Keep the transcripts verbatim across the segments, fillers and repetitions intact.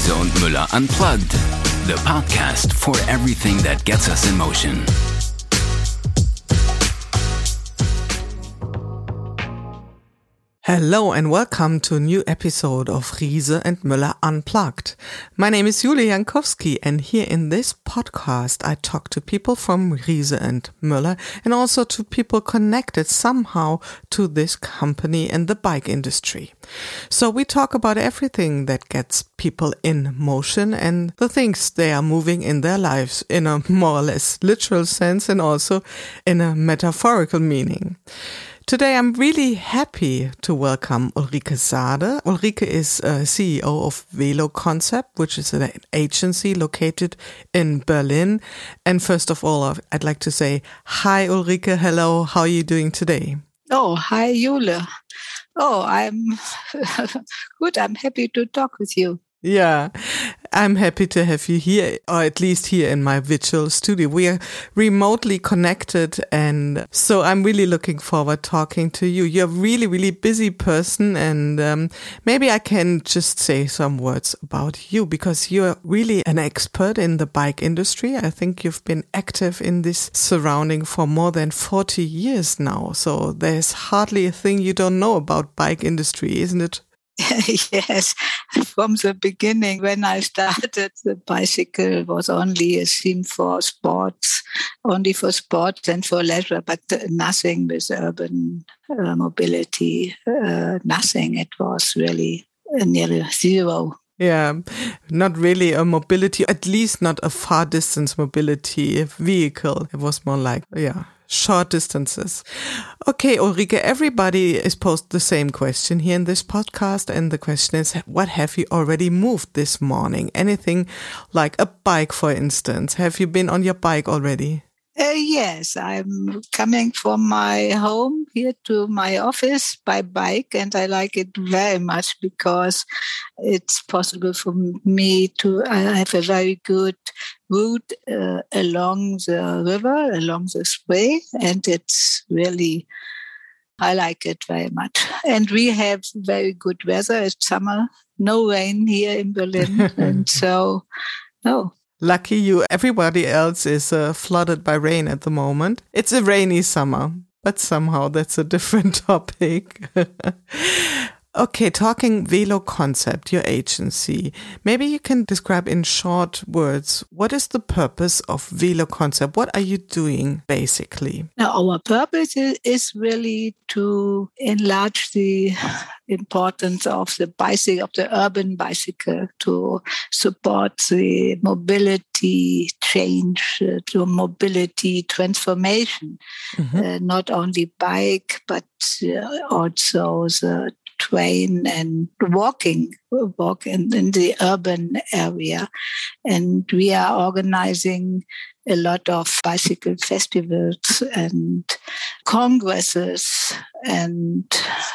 Riese und Müller Unplugged, the podcast for everything that gets us in motion. Hello and welcome to a new episode of Riese and Müller Unplugged. My name is Julia Jankowski, and here in this podcast I talk to people from Riese and Müller and also to people connected somehow to this company and the bike industry. So we talk about everything that gets people in motion and the things they are moving in their lives in a more or less literal sense and also in a metaphorical meaning. Today I'm really happy to welcome Ulrike Sade. Ulrike is uh, C E O of Velo Concept, which is an agency located in Berlin. And first of all, I'd like to say, hi Ulrike, hello, how are you doing today? Oh, hi Julia. Oh, I'm good, I'm happy to talk with you. Yeah, I'm happy to have you here, or at least here in my virtual studio. We are remotely connected, and so I'm really looking forward talking to you. You're a really, really busy person, and um, maybe I can just say some words about you, because you're really an expert in the bike industry. I think you've been active in this surrounding for more than forty years now, so there's hardly a thing you don't know about bike industry, isn't it? Yes, from the beginning, when I started, the bicycle was only a theme for sports, only for sports and for leisure, but nothing with urban uh, mobility, uh, nothing. It was really nearly zero. Yeah, not really a mobility, at least not a far distance mobility vehicle. It was more like, yeah, short distances. Okay, Ulrike, everybody is posed the same question here in this podcast. And the question is, what have you already moved this morning? Anything like a bike, for instance? Have you been on your bike already? Uh, yes, I'm coming from my home here to my office by bike, and I like it very much because it's possible for me to I have a very good route uh, along the river, along the Spree, and it's really, I like it very much. And we have very good weather. It's summer, no rain here in Berlin, and so, no. Lucky you. Everybody else is uh, flooded by rain at the moment. It's a rainy summer, but somehow that's a different topic. Okay, talking Velo Concept, your agency. Maybe you can describe in short words, what is the purpose of Velo Concept? What are you doing, basically? Now, our purpose is, is really to enlarge the importance of the bicycle, of the urban bicycle, to support the mobility change, uh, to mobility transformation. Mm-hmm. Uh, not only bike, but uh, also the train and walking, walk in, in the urban area. And we are organizing a lot of bicycle festivals and congresses, and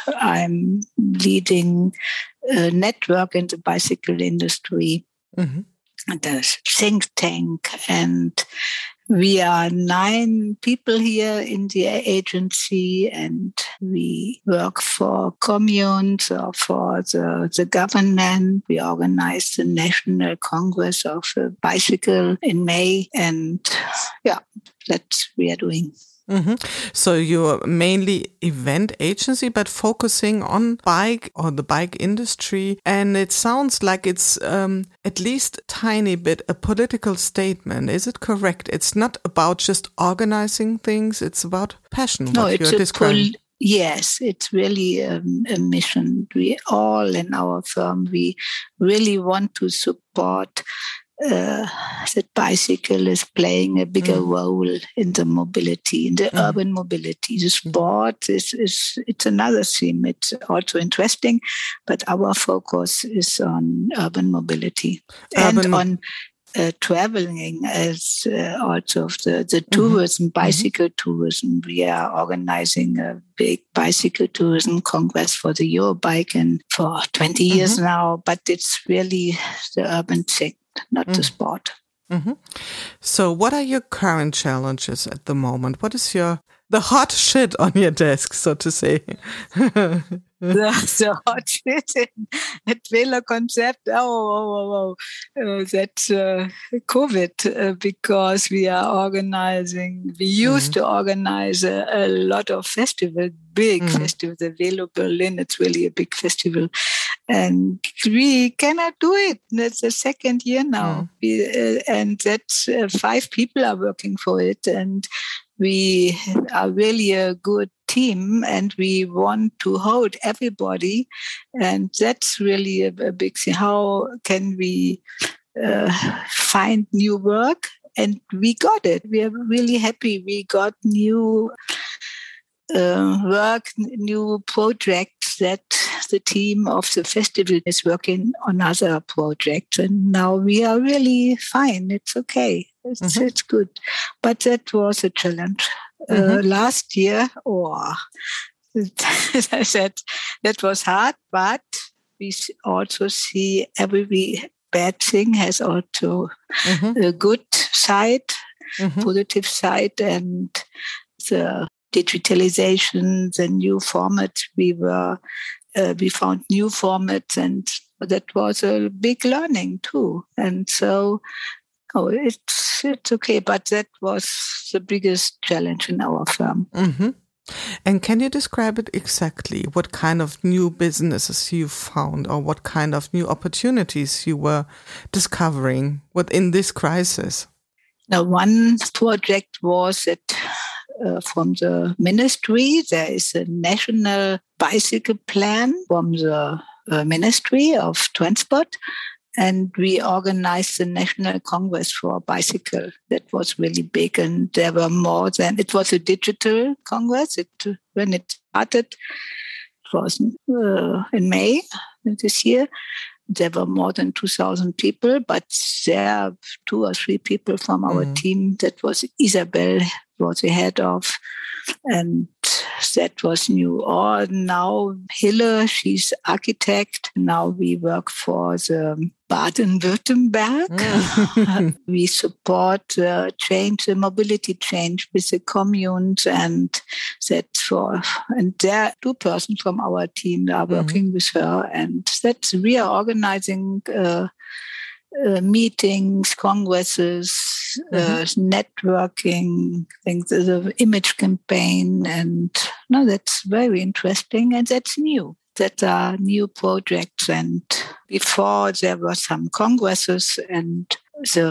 I'm leading a network in the bicycle industry, mm-hmm. the think tank, and we are nine people here in the agency, and we work for communes or for the, the government. We organize the National Congress of the Bicycle in May, and yeah, that's what we are doing. Mm-hmm. So you're mainly event agency, but focusing on bike or the bike industry. And it sounds like it's um, at least a tiny bit a political statement. Is it correct? It's not about just organizing things. It's about passion. No, what it's you're a describing. Pol- yes, it's really um, a mission. We all in our firm, we really want to support Uh, that bicycle is playing a bigger mm. role in the mobility, in the mm. urban mobility. The sport is, is it's another theme. It's also interesting, but our focus is on urban mobility urban and on uh, traveling as uh, also the, the tourism, mm-hmm. bicycle tourism. We are organizing a big bicycle tourism congress for the Eurobike and for twenty years mm-hmm. now, but it's really the urban thing, not mm. the sport. Mm-hmm. So what are your current challenges at the moment? What is your the hot shit on your desk, so to say? the, the hot shit in at Vela Concept. Oh, oh, oh, oh. Uh, that's uh, COVID uh, because we are organizing, we used mm. to organize a, a lot of festivals, big mm. festivals. The Velo Berlin, it's really a big festival. And we cannot do it. That's the second year now. Mm. We, uh, and that's uh, five people are working for it. And we are really a good team and we want to hold everybody. And that's really a, a big thing. How can we uh, find new work? And we got it. We are really happy. We got new uh, work, new projects that the team of the festival is working on other projects. And now we are really fine. It's okay. It's, mm-hmm. it's good. But that was a challenge. Mm-hmm. Uh, last year, oh, as I said, that was hard, but we also see every bad thing has also mm-hmm. a good side, mm-hmm. positive side, and the digitalization, the new formats, we were, uh, we found new formats, and that was a big learning too. And so, oh, it's it's okay, but that was the biggest challenge in our firm. Mm-hmm. And can you describe it exactly? What kind of new businesses you found, or what kind of new opportunities you were discovering within this crisis? Now, one project was that uh, from the ministry, there is a national bicycle plan from the uh, Ministry of Transport. And we organized the National Congress for Bicycle. That was really big. And there were more than, it was a digital Congress. It, when it started, it was uh, in May this year. There were more than two thousand people, but there are two or three people from our mm. team. That was Isabel, was the head of, and that was new. Or now Hille, she's architect. Now we work for the Baden-Württemberg. Mm. We support uh, change, the mobility change with the communes, and that for and there two persons from our team are working mm. with her, and that's we are organizing uh, uh, meetings, congresses, mm-hmm. uh, networking, things, the image campaign, and no, that's very interesting, and that's new. That are new projects, and before there were some congresses and the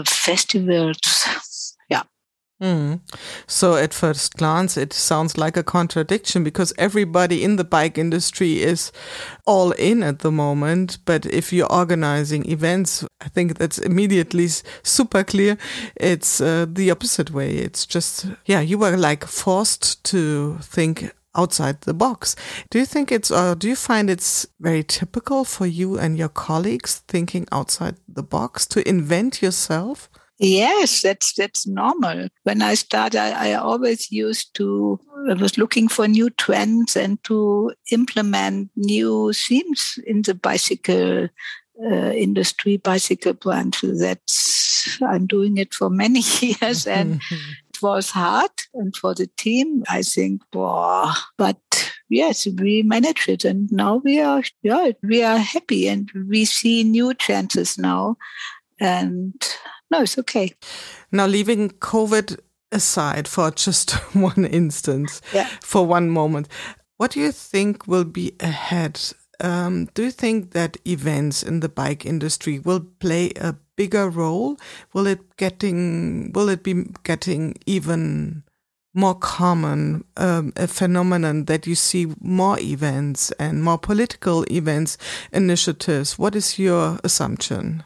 festivals. Yeah. Mm. So at first glance, it sounds like a contradiction because everybody in the bike industry is all in at the moment. But if you're organizing events, I think that's immediately super clear. It's uh, the opposite way. It's just, yeah, you were like forced to think outside the box. Do you think it's, or do you find it's very typical for you and your colleagues thinking outside the box to invent yourself? Yes, that's that's normal. When I started, I, I always used to, I was looking for new trends and to implement new themes in the bicycle uh, industry, bicycle branch. That's, I'm doing it for many years and it was hard. And for the team, I think, wow, but yes, we managed it. And now we are, yeah, we are happy and we see new chances now. And no, it's okay. Now, leaving COVID aside for just one instance, yeah. for one moment, what do you think will be ahead? Um, do you think that events in the bike industry will play a bigger role? Will it getting? Will it be getting even more common, um, a phenomenon that you see more events and more political events, initiatives? What is your assumption?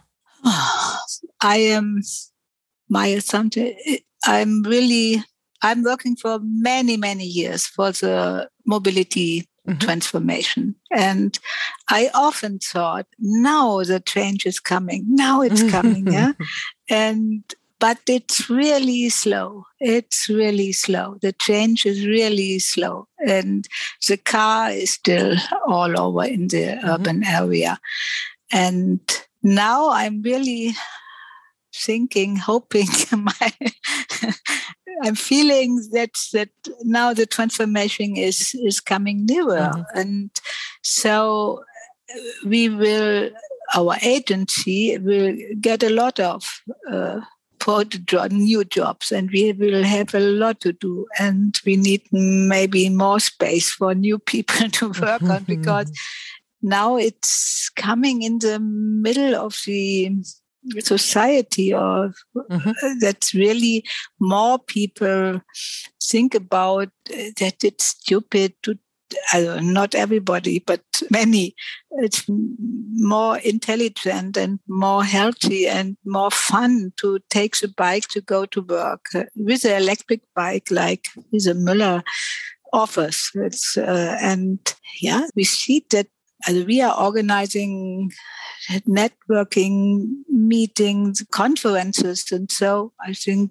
I am, my assumption, I'm really, I'm working for many, many years for the mobility mm-hmm. transformation. And I often thought, now the change is coming. Now it's coming. yeah. And, but it's really slow. It's really slow. The change is really slow. And the car is still all over in the mm-hmm. urban area. And now I'm really thinking, hoping, my I'm feeling that that now the transformation is is coming nearer, mm-hmm. and so we will. Our agency will get a lot of uh, new jobs, and we will have a lot to do, and we need maybe more space for new people to work on, because now it's coming in the middle of the society, or mm-hmm. that really more people think about that it's stupid to, uh, not everybody, but many, it's more intelligent and more healthy and more fun to take the bike to go to work uh, with an electric bike like Riese Müller offers. It's, uh, and yeah, we see that uh, we are organizing networking meetings, conferences, and so I think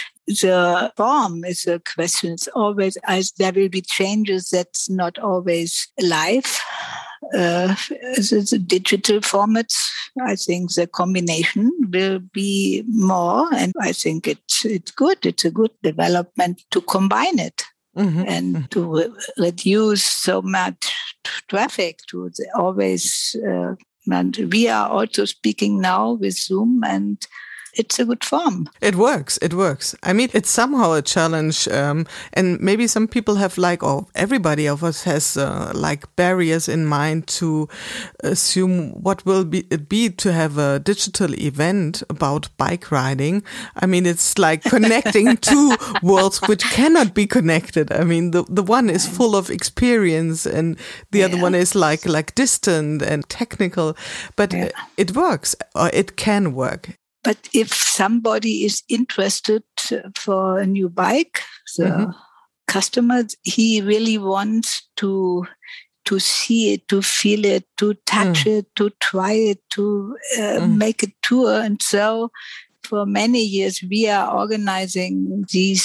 the form is a question. It's always, as there will be changes that's not always live. Uh, the digital formats, I think the combination will be more, and I think it's it's good. It's a good development to combine it. Mm-hmm. And to re- reduce so much traffic to the always. Uh, and we are also speaking now with Zoom, and it's a good form. It works. It works. I mean, it's somehow a challenge. Um, and maybe some people have like, or everybody of us has uh, like barriers in mind to assume what will be, it be to have a digital event about bike riding. I mean, it's like connecting two worlds which cannot be connected. I mean, the, the one is full of experience and the yeah. other one is like, like distant and technical, but yeah. it works, or it can work. But if somebody is interested for a new bike, the mm-hmm. customer, he really wants to to see it, to feel it, to touch mm. it, to try it, to uh, mm. make a tour. And so for many years, we are organizing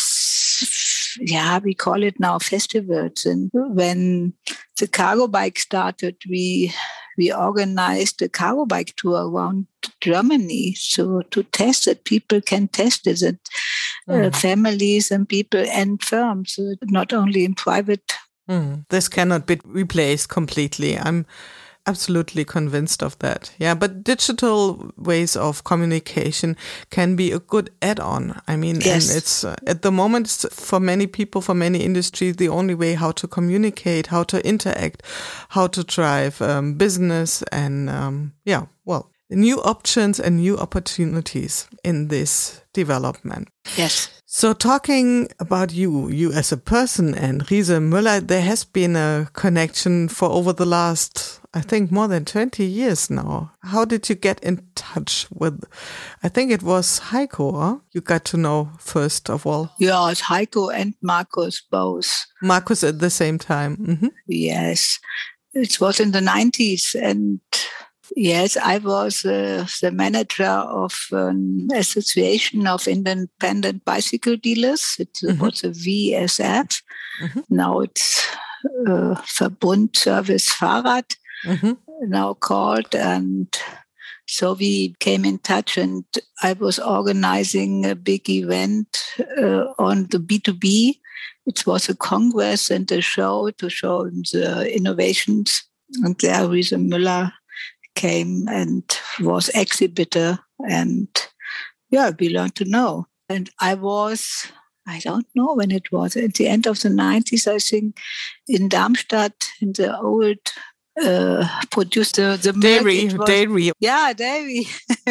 these, yeah, we call it now festivals. And when the cargo bike started, we we organized a cargo bike tour around Germany, so to test it, people can test it, and mm. uh, families and people and firms, so not only in private. Mm. This cannot be replaced completely. I'm absolutely convinced of that. Yeah, but digital ways of communication can be a good add-on. I mean, yes. and it's uh, at the moment it's for many people, for many industries, the only way how to communicate, how to interact, how to drive um, business, and um, yeah, well, new options and new opportunities in this development. Yes. So talking about you, you as a person and Riese Müller, there has been a connection for over the last, I think, more than twenty years now. How did you get in touch with, I think it was Heiko, huh? You got to know first of all. Yeah, it's Heiko and Markus both. Markus at the same time. Mm-hmm. Yes. It was in the nineties, and yes, I was uh, the manager of an association of independent bicycle dealers. It mm-hmm. was a V S F. Mm-hmm. Now it's uh, Verbund Service Fahrrad, mm-hmm. now called. And so we came in touch, and I was organizing a big event uh, on the B two B. It was a congress and a show to show the innovations. And there Riese Müller came and was exhibitor, and yeah, we learned to know. And I was, I don't know when it was, at the end of the nineties, I think, in Darmstadt, in the old uh, producer, the dairy, was, dairy. Yeah, dairy.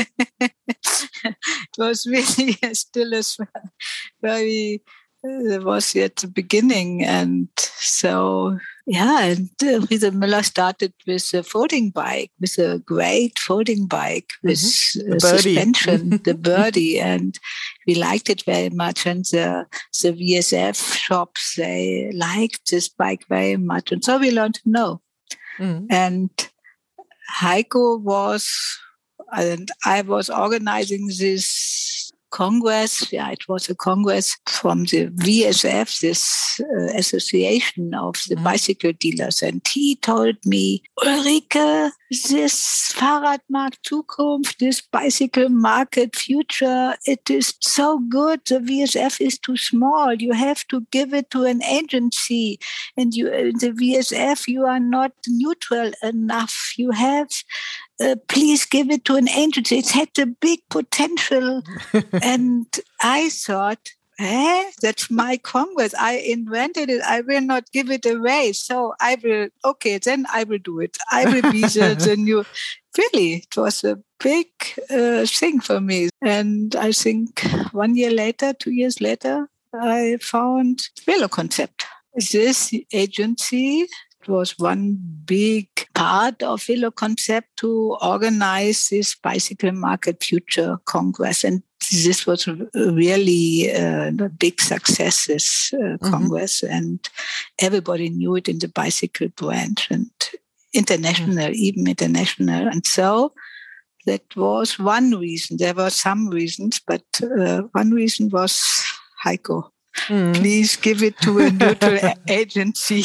It was really still a very, uh, it was at the beginning, and so yeah, and uh, Riese Müller started with a folding bike, with a great folding bike with mm-hmm. uh, suspension, the Birdie, and we liked it very much. And the, the V S F shops, they liked this bike very much. And so we learned to know. Mm-hmm. And Heiko was, and I was organizing this congress. Yeah, it was a congress from the V S F, this uh, association of the mm-hmm. bicycle dealers. And he told me, Ulrike, this Fahrradmarkt Zukunft, this bicycle market future, it is so good. The V S F is too small. You have to give it to an agency. And you, in the V S F, you are not neutral enough. You have, uh, please give it to an agency. It had a big potential. And I thought, eh, that's my congress. I invented it. I will not give it away. So I will, okay, then I will do it. I will be the, the new. Really, it was a big uh, thing for me. And I think one year later, two years later, I found VeloConcept. This agency was one big part of VeloConcept to organize this Bicycle Market Future Congress. And this was really uh, a big success, this uh, mm-hmm. Congress. And everybody knew it in the bicycle branch and international, mm-hmm. even international. And so that was one reason. There were some reasons, but uh, one reason was Heiko. Mm. Please give it to a neutral agency.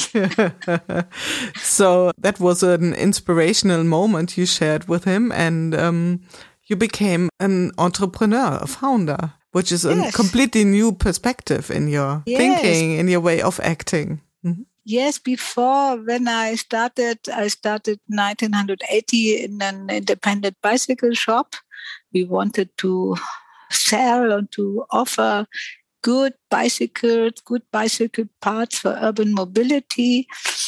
So that was an inspirational moment you shared with him, and um, you became an entrepreneur, a founder, which is yes. a completely new perspective in your yes. thinking, in your way of acting. Mm-hmm. Yes, before when I started, I started nineteen eighty in an independent bicycle shop. We wanted to sell and to offer good bicycles, good bicycle parts for urban mobility.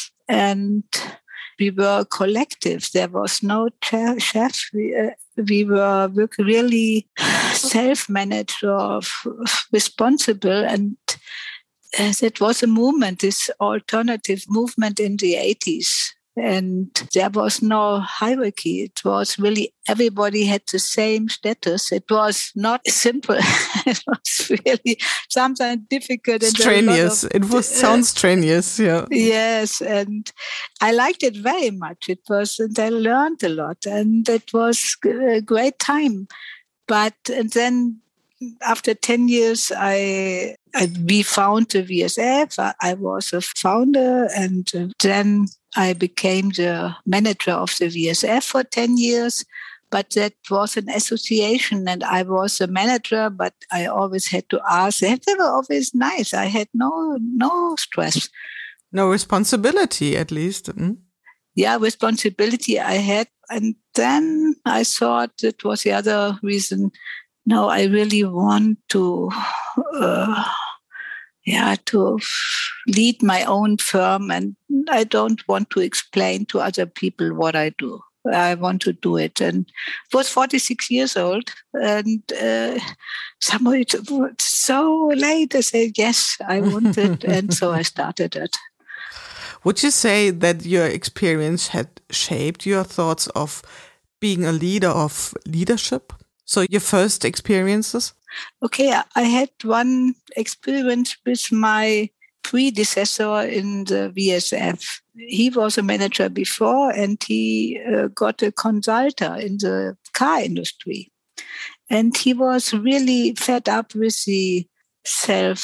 And we were collective. There was no chef. We, uh, we were really self-managed or responsible. And uh, that was a movement, this alternative movement in the eighties. And there was no hierarchy. It was really everybody had the same status. It was not simple. It was really sometimes difficult. And strenuous. Of, it was sounds strenuous. Yeah. Yes, and I liked it very much. It was, and I learned a lot, and it was a great time. But and then after ten years, I, I we found the V S F. I, I was a founder, and then I became the manager of the V S F for ten years, but that was an association and I was a manager, but I always had to ask. They were always nice. I had no no stress. No responsibility, at least. Mm. Yeah, responsibility I had. And then I thought it was the other reason. No, I really want to... Uh, Yeah, to lead my own firm, and I don't want to explain to other people what I do. I want to do it. And I was forty-six years old, and uh, somebody was so late. I said, yes, I want it. And so I started it. Would you say that your experience had shaped your thoughts of being a leader, of leadership? So your first experiences? Okay, I had one experience with my predecessor in the V S F. He was a manager before, and he uh, got a consultant in the car industry. And he was really fed up with the self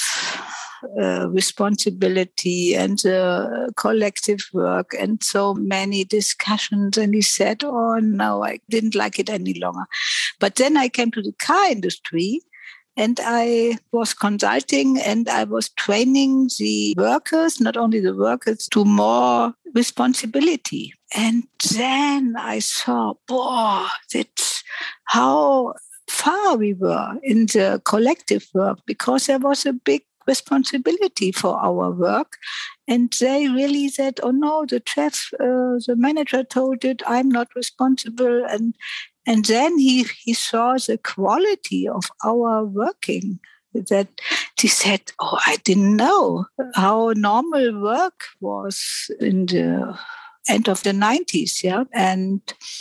uh, responsibility and the collective work and so many discussions. And he said, oh, no, I didn't like it any longer. But then I came to the car industry, and I was consulting and I was training the workers, not only the workers, to more responsibility. And then I saw, boy, that's how far we were in the collective work, because there was a big responsibility for our work. And they really said, oh no, the chef, uh, the manager told it, I'm not responsible. And And then he, he saw the quality of our working, that he said, oh, I didn't know how normal work was in the end of the nineties. Yeah. And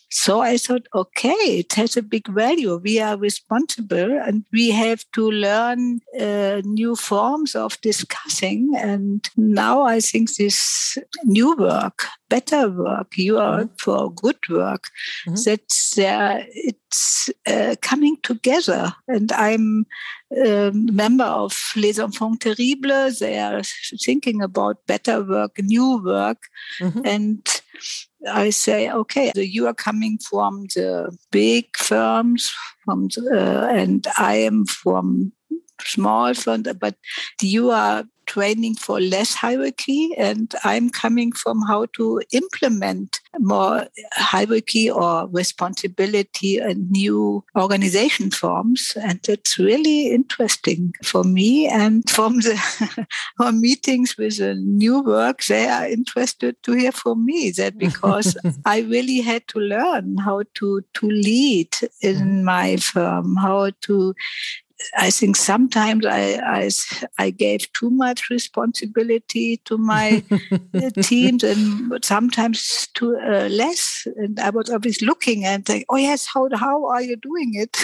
so I thought, okay, it has a big value. We are responsible and we have to learn uh, new forms of discussing. And now I think this new work, better work, you are mm-hmm. for good work, mm-hmm. that's uh, it's uh, coming together. And I'm a member of Les Enfants Terribles. They are thinking about better work, new work. Mm-hmm. And I say, okay, so you are coming from the big firms, from the, uh, and I am from small firms, but you are training for less hierarchy, and I'm coming from how to implement more hierarchy or responsibility and new organization forms. And it's really interesting for me. And from the our meetings with the new work, they are interested to hear from me that because I really had to learn how to, to lead in my firm, how to I think sometimes I, I, I gave too much responsibility to my teams and sometimes too uh, less. And I was always looking and saying, oh, yes, how how are you doing it?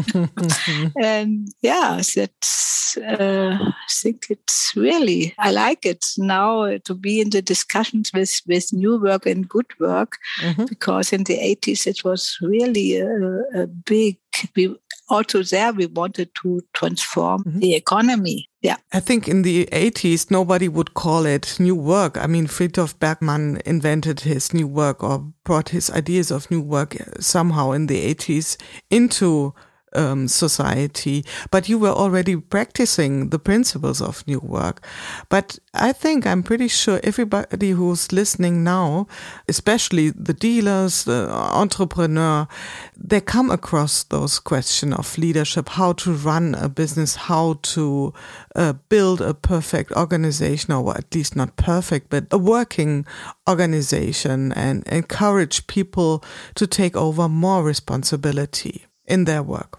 And yeah, that's, uh, I think it's really, I like it now to be in the discussions with, with new work and good work, mm-hmm. because in the eighties it was really a, a big, we, also there we wanted to transform mm-hmm. the economy. Yeah. I think in the eighties, nobody would call it new work. I mean, Friedhof Bergmann invented his new work or brought his ideas of new work somehow in the eighties into Um, society, but you were already practicing the principles of new work. But I think I'm pretty sure everybody who's listening now, especially the dealers, the entrepreneur, they come across those questions of leadership, how to run a business, how to uh, build a perfect organization, or at least not perfect, but a working organization, and encourage people to take over more responsibility in their work.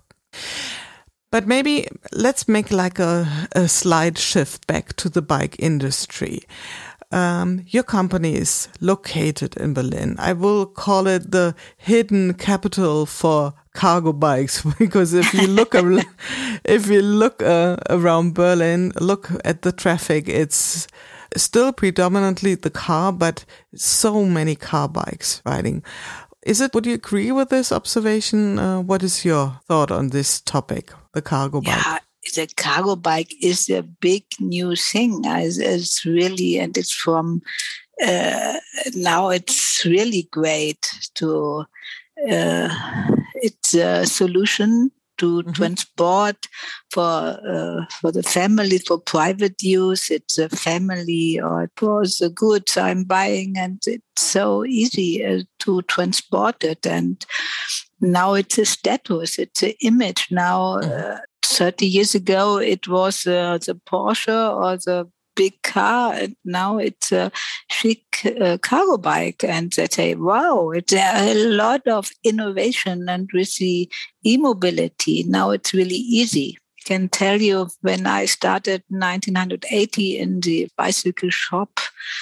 But maybe let's make like a, a slight shift back to the bike industry. Um, your company is located in Berlin. I will call it the hidden capital for cargo bikes, because if you look ar- if you look uh, around Berlin, look at the traffic, it's still predominantly the car, but so many car bikes riding. Is it, would you agree with this observation? Uh, what is your thought on this topic, the cargo bike? Yeah, the cargo bike is a big new thing. It's, it's really, and it's from, uh, now it's really great to, uh, it's a solution to mm-hmm. transport for uh, for the family, for private use. It's a family or for the goods I'm buying, and it's so easy uh, to transport it. And now it's a status, it's an image. Now, uh, thirty years ago, it was uh, the Porsche or the big car, and now it's a chic uh, cargo bike. And they say, wow, it's a lot of innovation. And with the e-mobility, now it's really easy. I can tell you, when I started nineteen eighty in the bicycle shop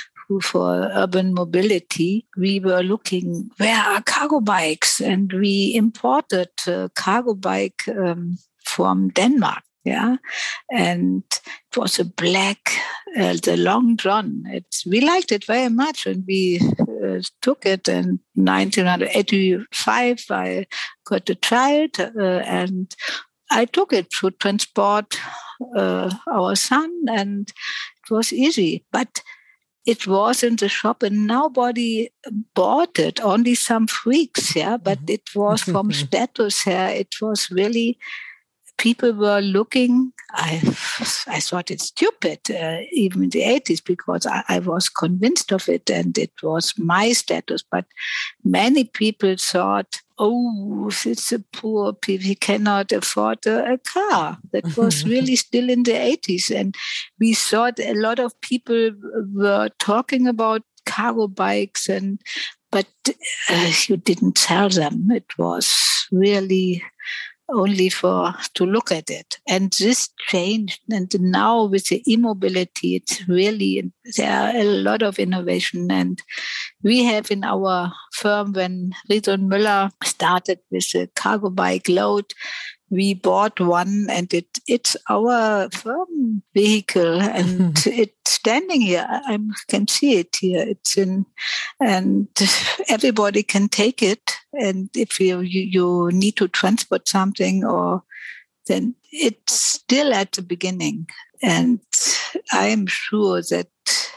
for urban mobility, we were looking, where are cargo bikes? And we imported a cargo bike um, from Denmark. Yeah, and it was a black, uh, the Long John. It's, we liked it very much, and we uh, took it. In nineteen eighty-five, I got a child, uh, and I took it to transport uh, our son, and it was easy. But it was in the shop, and nobody bought it. Only some freaks, yeah. But it was from status here. It was really. People were looking, I I thought it's stupid, uh, even in the eighties, because I, I was convinced of it and it was my status. But many people thought, oh, it's a poor people, he cannot afford a, a car. That was really still in the eighties. And we thought a lot of people were talking about cargo bikes, and but uh, you didn't sell them. It was really only for to look at it. And this changed. And now with the e-mobility, it's really, there are a lot of innovation. And we have in our firm, when Riese and Müller started with the cargo bike load, we bought one, and it it's our firm vehicle, and it's standing here. I can see it here. It's in, and everybody can take it. And if you, you, you need to transport something, or then it's still at the beginning. And I'm sure that,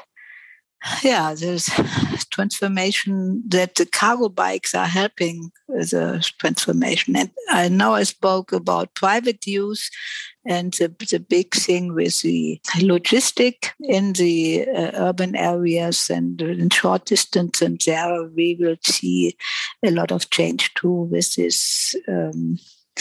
yeah, there's transformation, that the cargo bikes are helping the transformation. And I know I spoke about private use and the, the big thing with the logistic in the uh, urban areas and in short distance. And there we will see a lot of change too with this um,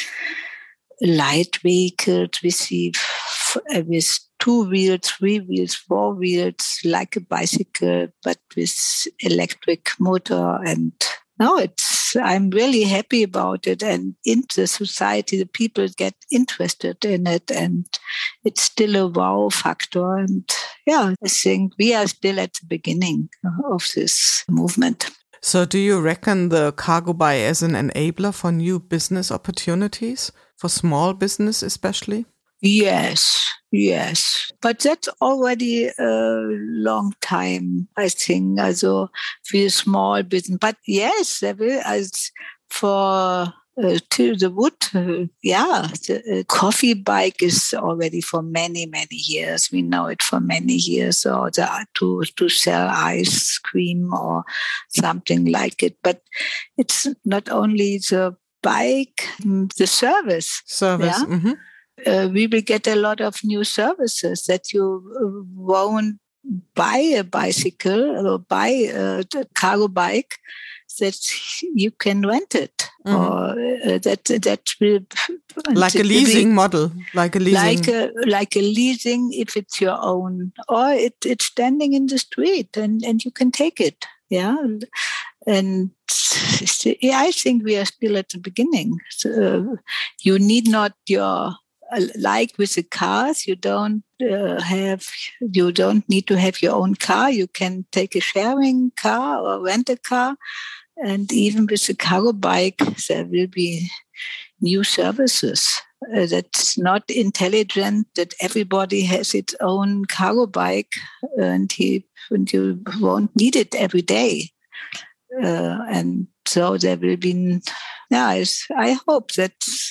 light vehicles. We see f- with two wheels, three wheels, four wheels, like a bicycle, but with electric motor. And no, it's, I'm really happy about it. And in the society, the people get interested in it, and it's still a wow factor. And yeah, I think we are still at the beginning of this movement. So do you reckon the cargo bike as an enabler for new business opportunities, for small business especially? Yes, yes. But that's already a long time, I think, also for small business. But yes, there will, as for uh, to the wood, uh, yeah, the uh, coffee bike is already for many, many years. We know it for many years, or the, to, to sell ice cream or something like it. But it's not only the bike, the service. Service, yeah? mm-hmm. Uh, we will get a lot of new services that you won't buy a bicycle or buy a cargo bike, that you can rent it. Mm-hmm. Or uh, that that will like a leasing model, like a leasing, like a like a leasing if it's your own, or it, it's standing in the street and, and you can take it. Yeah. And yeah, I think we are still at the beginning. So you need not your, like with the cars, you don't uh, have, you don't need to have your own car. You can take a sharing car or rent a car. And even with the cargo bike, there will be new services. Uh, that's not intelligent that everybody has its own cargo bike and, he, and you won't need it every day. Uh, and so there will be, yeah, I hope that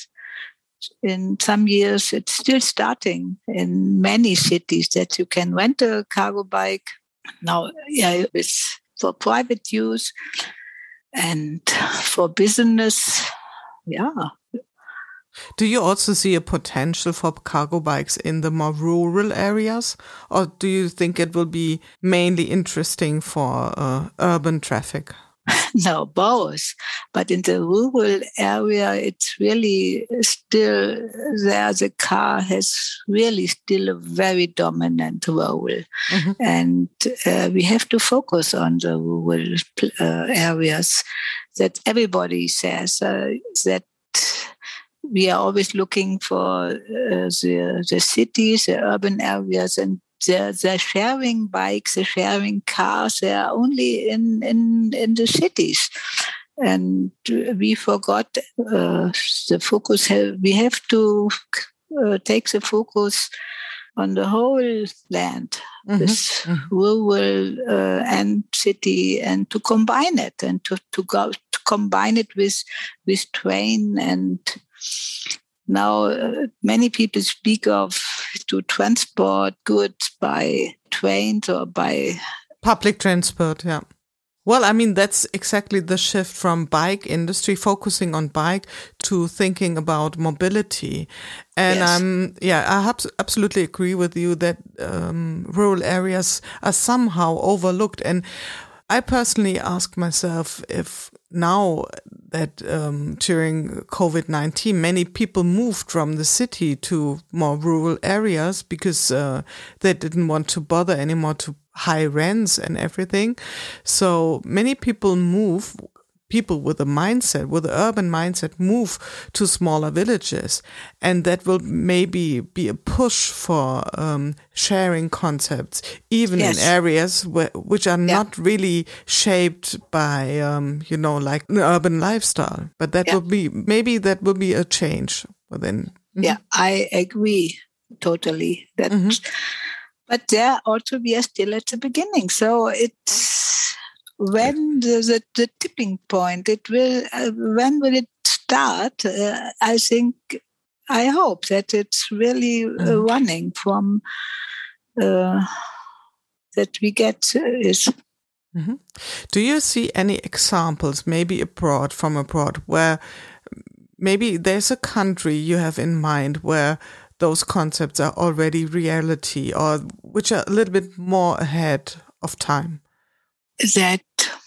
in some years it's still starting in many cities that you can rent a cargo bike. Now, yeah, it's for private use and for business, yeah. Do you also see a potential for cargo bikes in the more rural areas? Or do you think it will be mainly interesting for uh, urban traffic? No, both. But in the rural area, it's really still there. The car has really still a very dominant role. Mm-hmm. And uh, we have to focus on the rural uh, areas. That everybody says uh, that we are always looking for uh, the, the cities, the urban areas, and the, the sharing bikes, the sharing cars, they are only in, in, in the cities. And we forgot uh, the focus. We have to uh, take the focus on the whole land, mm-hmm. this mm-hmm. rural uh, and city, and to combine it and to, to go to combine it with with train. And now uh, many people speak of to transport goods by trains or by public transport. Yeah. Well, I mean, that's exactly the shift from bike industry, focusing on bike, to thinking about mobility. And yes. um, yeah, I have absolutely agree with you that um, rural areas are somehow overlooked. And I personally ask myself if now that um, during COVID nineteen, many people moved from the city to more rural areas because uh, they didn't want to bother anymore to high rents and everything. So many people move people with a mindset, with the urban mindset, move to smaller villages. And that will maybe be a push for um, sharing concepts, even yes. in areas where, which are yeah. not really shaped by, um, you know, like an urban lifestyle. But that yeah. will be, maybe that will be a change within. Mm-hmm. Yeah, I agree totally. That, mm-hmm. But there also we are still at the beginning. So it's when the, the, the tipping point, it will, uh, when will it start? Uh, I think, I hope that it's really uh, mm-hmm. running from, uh, that we get uh, is. Mm-hmm. Do you see any examples, maybe abroad, from abroad, where maybe there's a country you have in mind where those concepts are already reality, or which are a little bit more ahead of time? That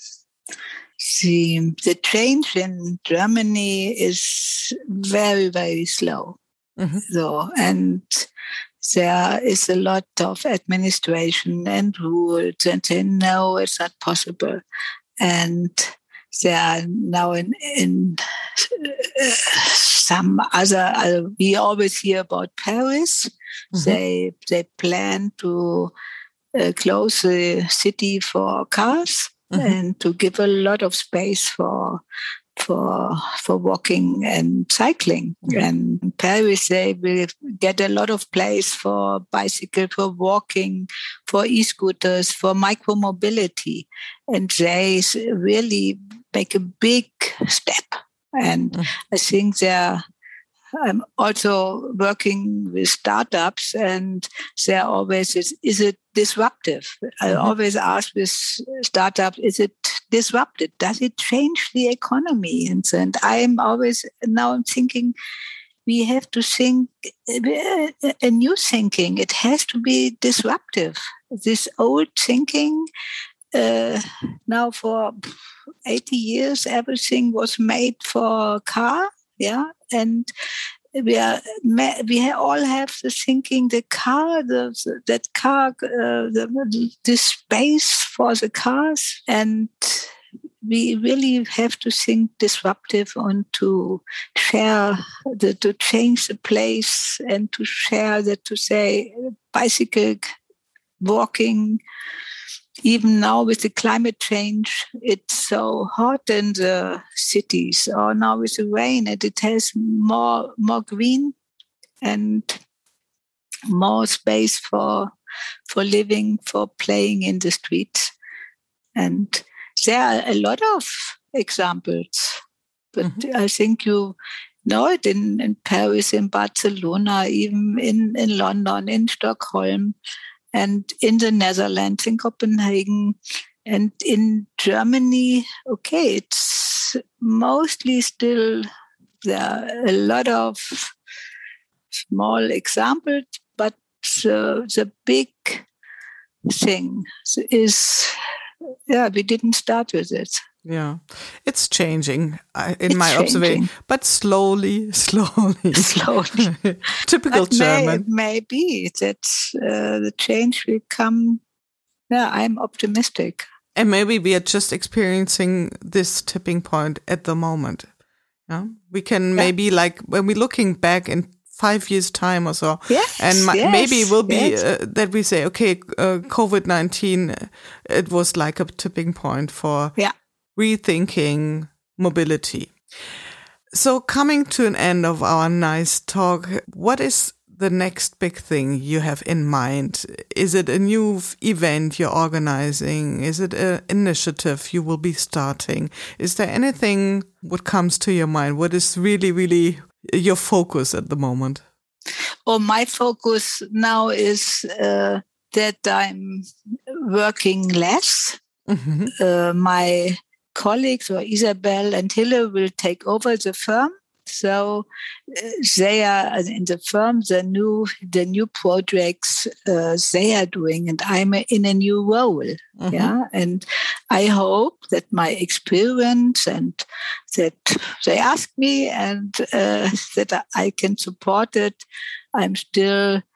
the, the change in Germany is very, very slow. Mm-hmm. So, and there is a lot of administration and rules, and they know it's not possible. And they are now in, in uh, some other, uh, we always hear about Paris. Mm-hmm. They, they plan to uh, close the city for cars mm-hmm. and to give a lot of space for for for walking and cycling. Mm-hmm. And in Paris, they will get a lot of place for bicycle, for walking, for e-scooters, for micro-mobility. And they really make a big step. And mm-hmm. I think they're I'm also working with startups, and they're always, is, is it disruptive? Mm-hmm. I always ask with startups, is it disrupted? Does it change the economy? And, and I'm always now thinking, we have to think a new thinking. It has to be disruptive. This old thinking, uh, now for eighty years, everything was made for a car. Yeah, and we are we all have the thinking the car, the, that car, uh, the, the space for the cars, and we really have to think disruptive and to share, the, to change the place and to share that, to say bicycle, walking. Even now with the climate change, it's so hot in the cities. Or now with the rain, and it has more more green and more space for for living, for playing in the streets. And there are a lot of examples. But mm-hmm. I think you know it in, in Paris, in Barcelona, even in, in London, in Stockholm, and in the Netherlands, in Copenhagen, and in Germany. Okay, it's mostly still, there are a lot of small examples, but the, the big thing is, yeah, we didn't start with it. Yeah, it's changing uh, in it's my changing. observation, but slowly, slowly. Slowly. Typical but German. May, maybe that uh, the change will come. Yeah, I'm optimistic. And maybe we are just experiencing this tipping point at the moment. Yeah, we can yeah. maybe, like, when we're looking back in five years' time or so, yes, and ma- yes, maybe it will be yes. uh, that we say, okay, uh, COVID nineteen, it was like a tipping point for yeah. rethinking mobility. So coming to an end of our nice talk, what is the next big thing you have in mind? Is it a new event you're organizing? Is it an initiative you will be starting? Is there anything what comes to your mind? What is really, really your focus at the moment? Oh, my focus now is uh, that I'm working less. Mm-hmm. Uh, my colleagues, or Isabel and Hille, will take over the firm. So uh, they are in the firm, the new the new projects uh, they are doing, and I'm in a new role. Mm-hmm. Yeah, and I hope that my experience and that they ask me and uh, that I can support it. I'm still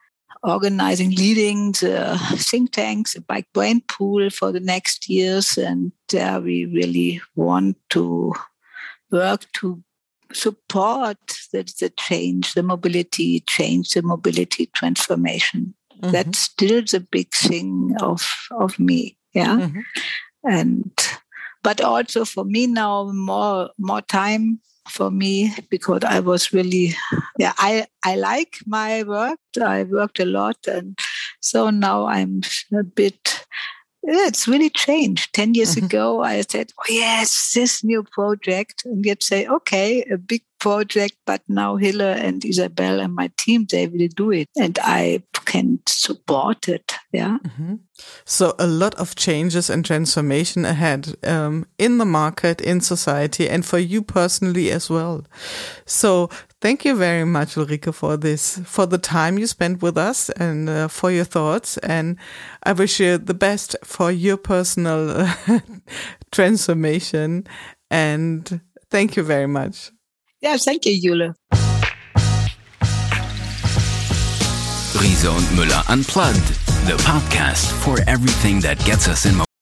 organizing, leading the think tanks, the Bike Brain Pool for the next years. And there we really want to work to support the, the change, the mobility change, the mobility transformation. Mm-hmm. That's still the big thing of, of me. Yeah. Mm-hmm. And, but also for me now, more, more time for me, because I was really, yeah, I, I like my work. I worked a lot. And so now I'm a bit, it's really changed. Ten years mm-hmm. ago, I said, oh, yes, this new project. And you'd say, okay, a big project, but now Hille and Isabel and my team, they will do it. And I can support it. Yeah. Mm-hmm. So a lot of changes and transformation ahead um, in the market, in society, and for you personally as well. So thank you very much, Ulrike, for this, for the time you spent with us and uh, for your thoughts. And I wish you the best for your personal uh, transformation. And thank you very much. Yeah, thank you, Jule. Riese und Müller Unplugged, the podcast for everything that gets us in motion.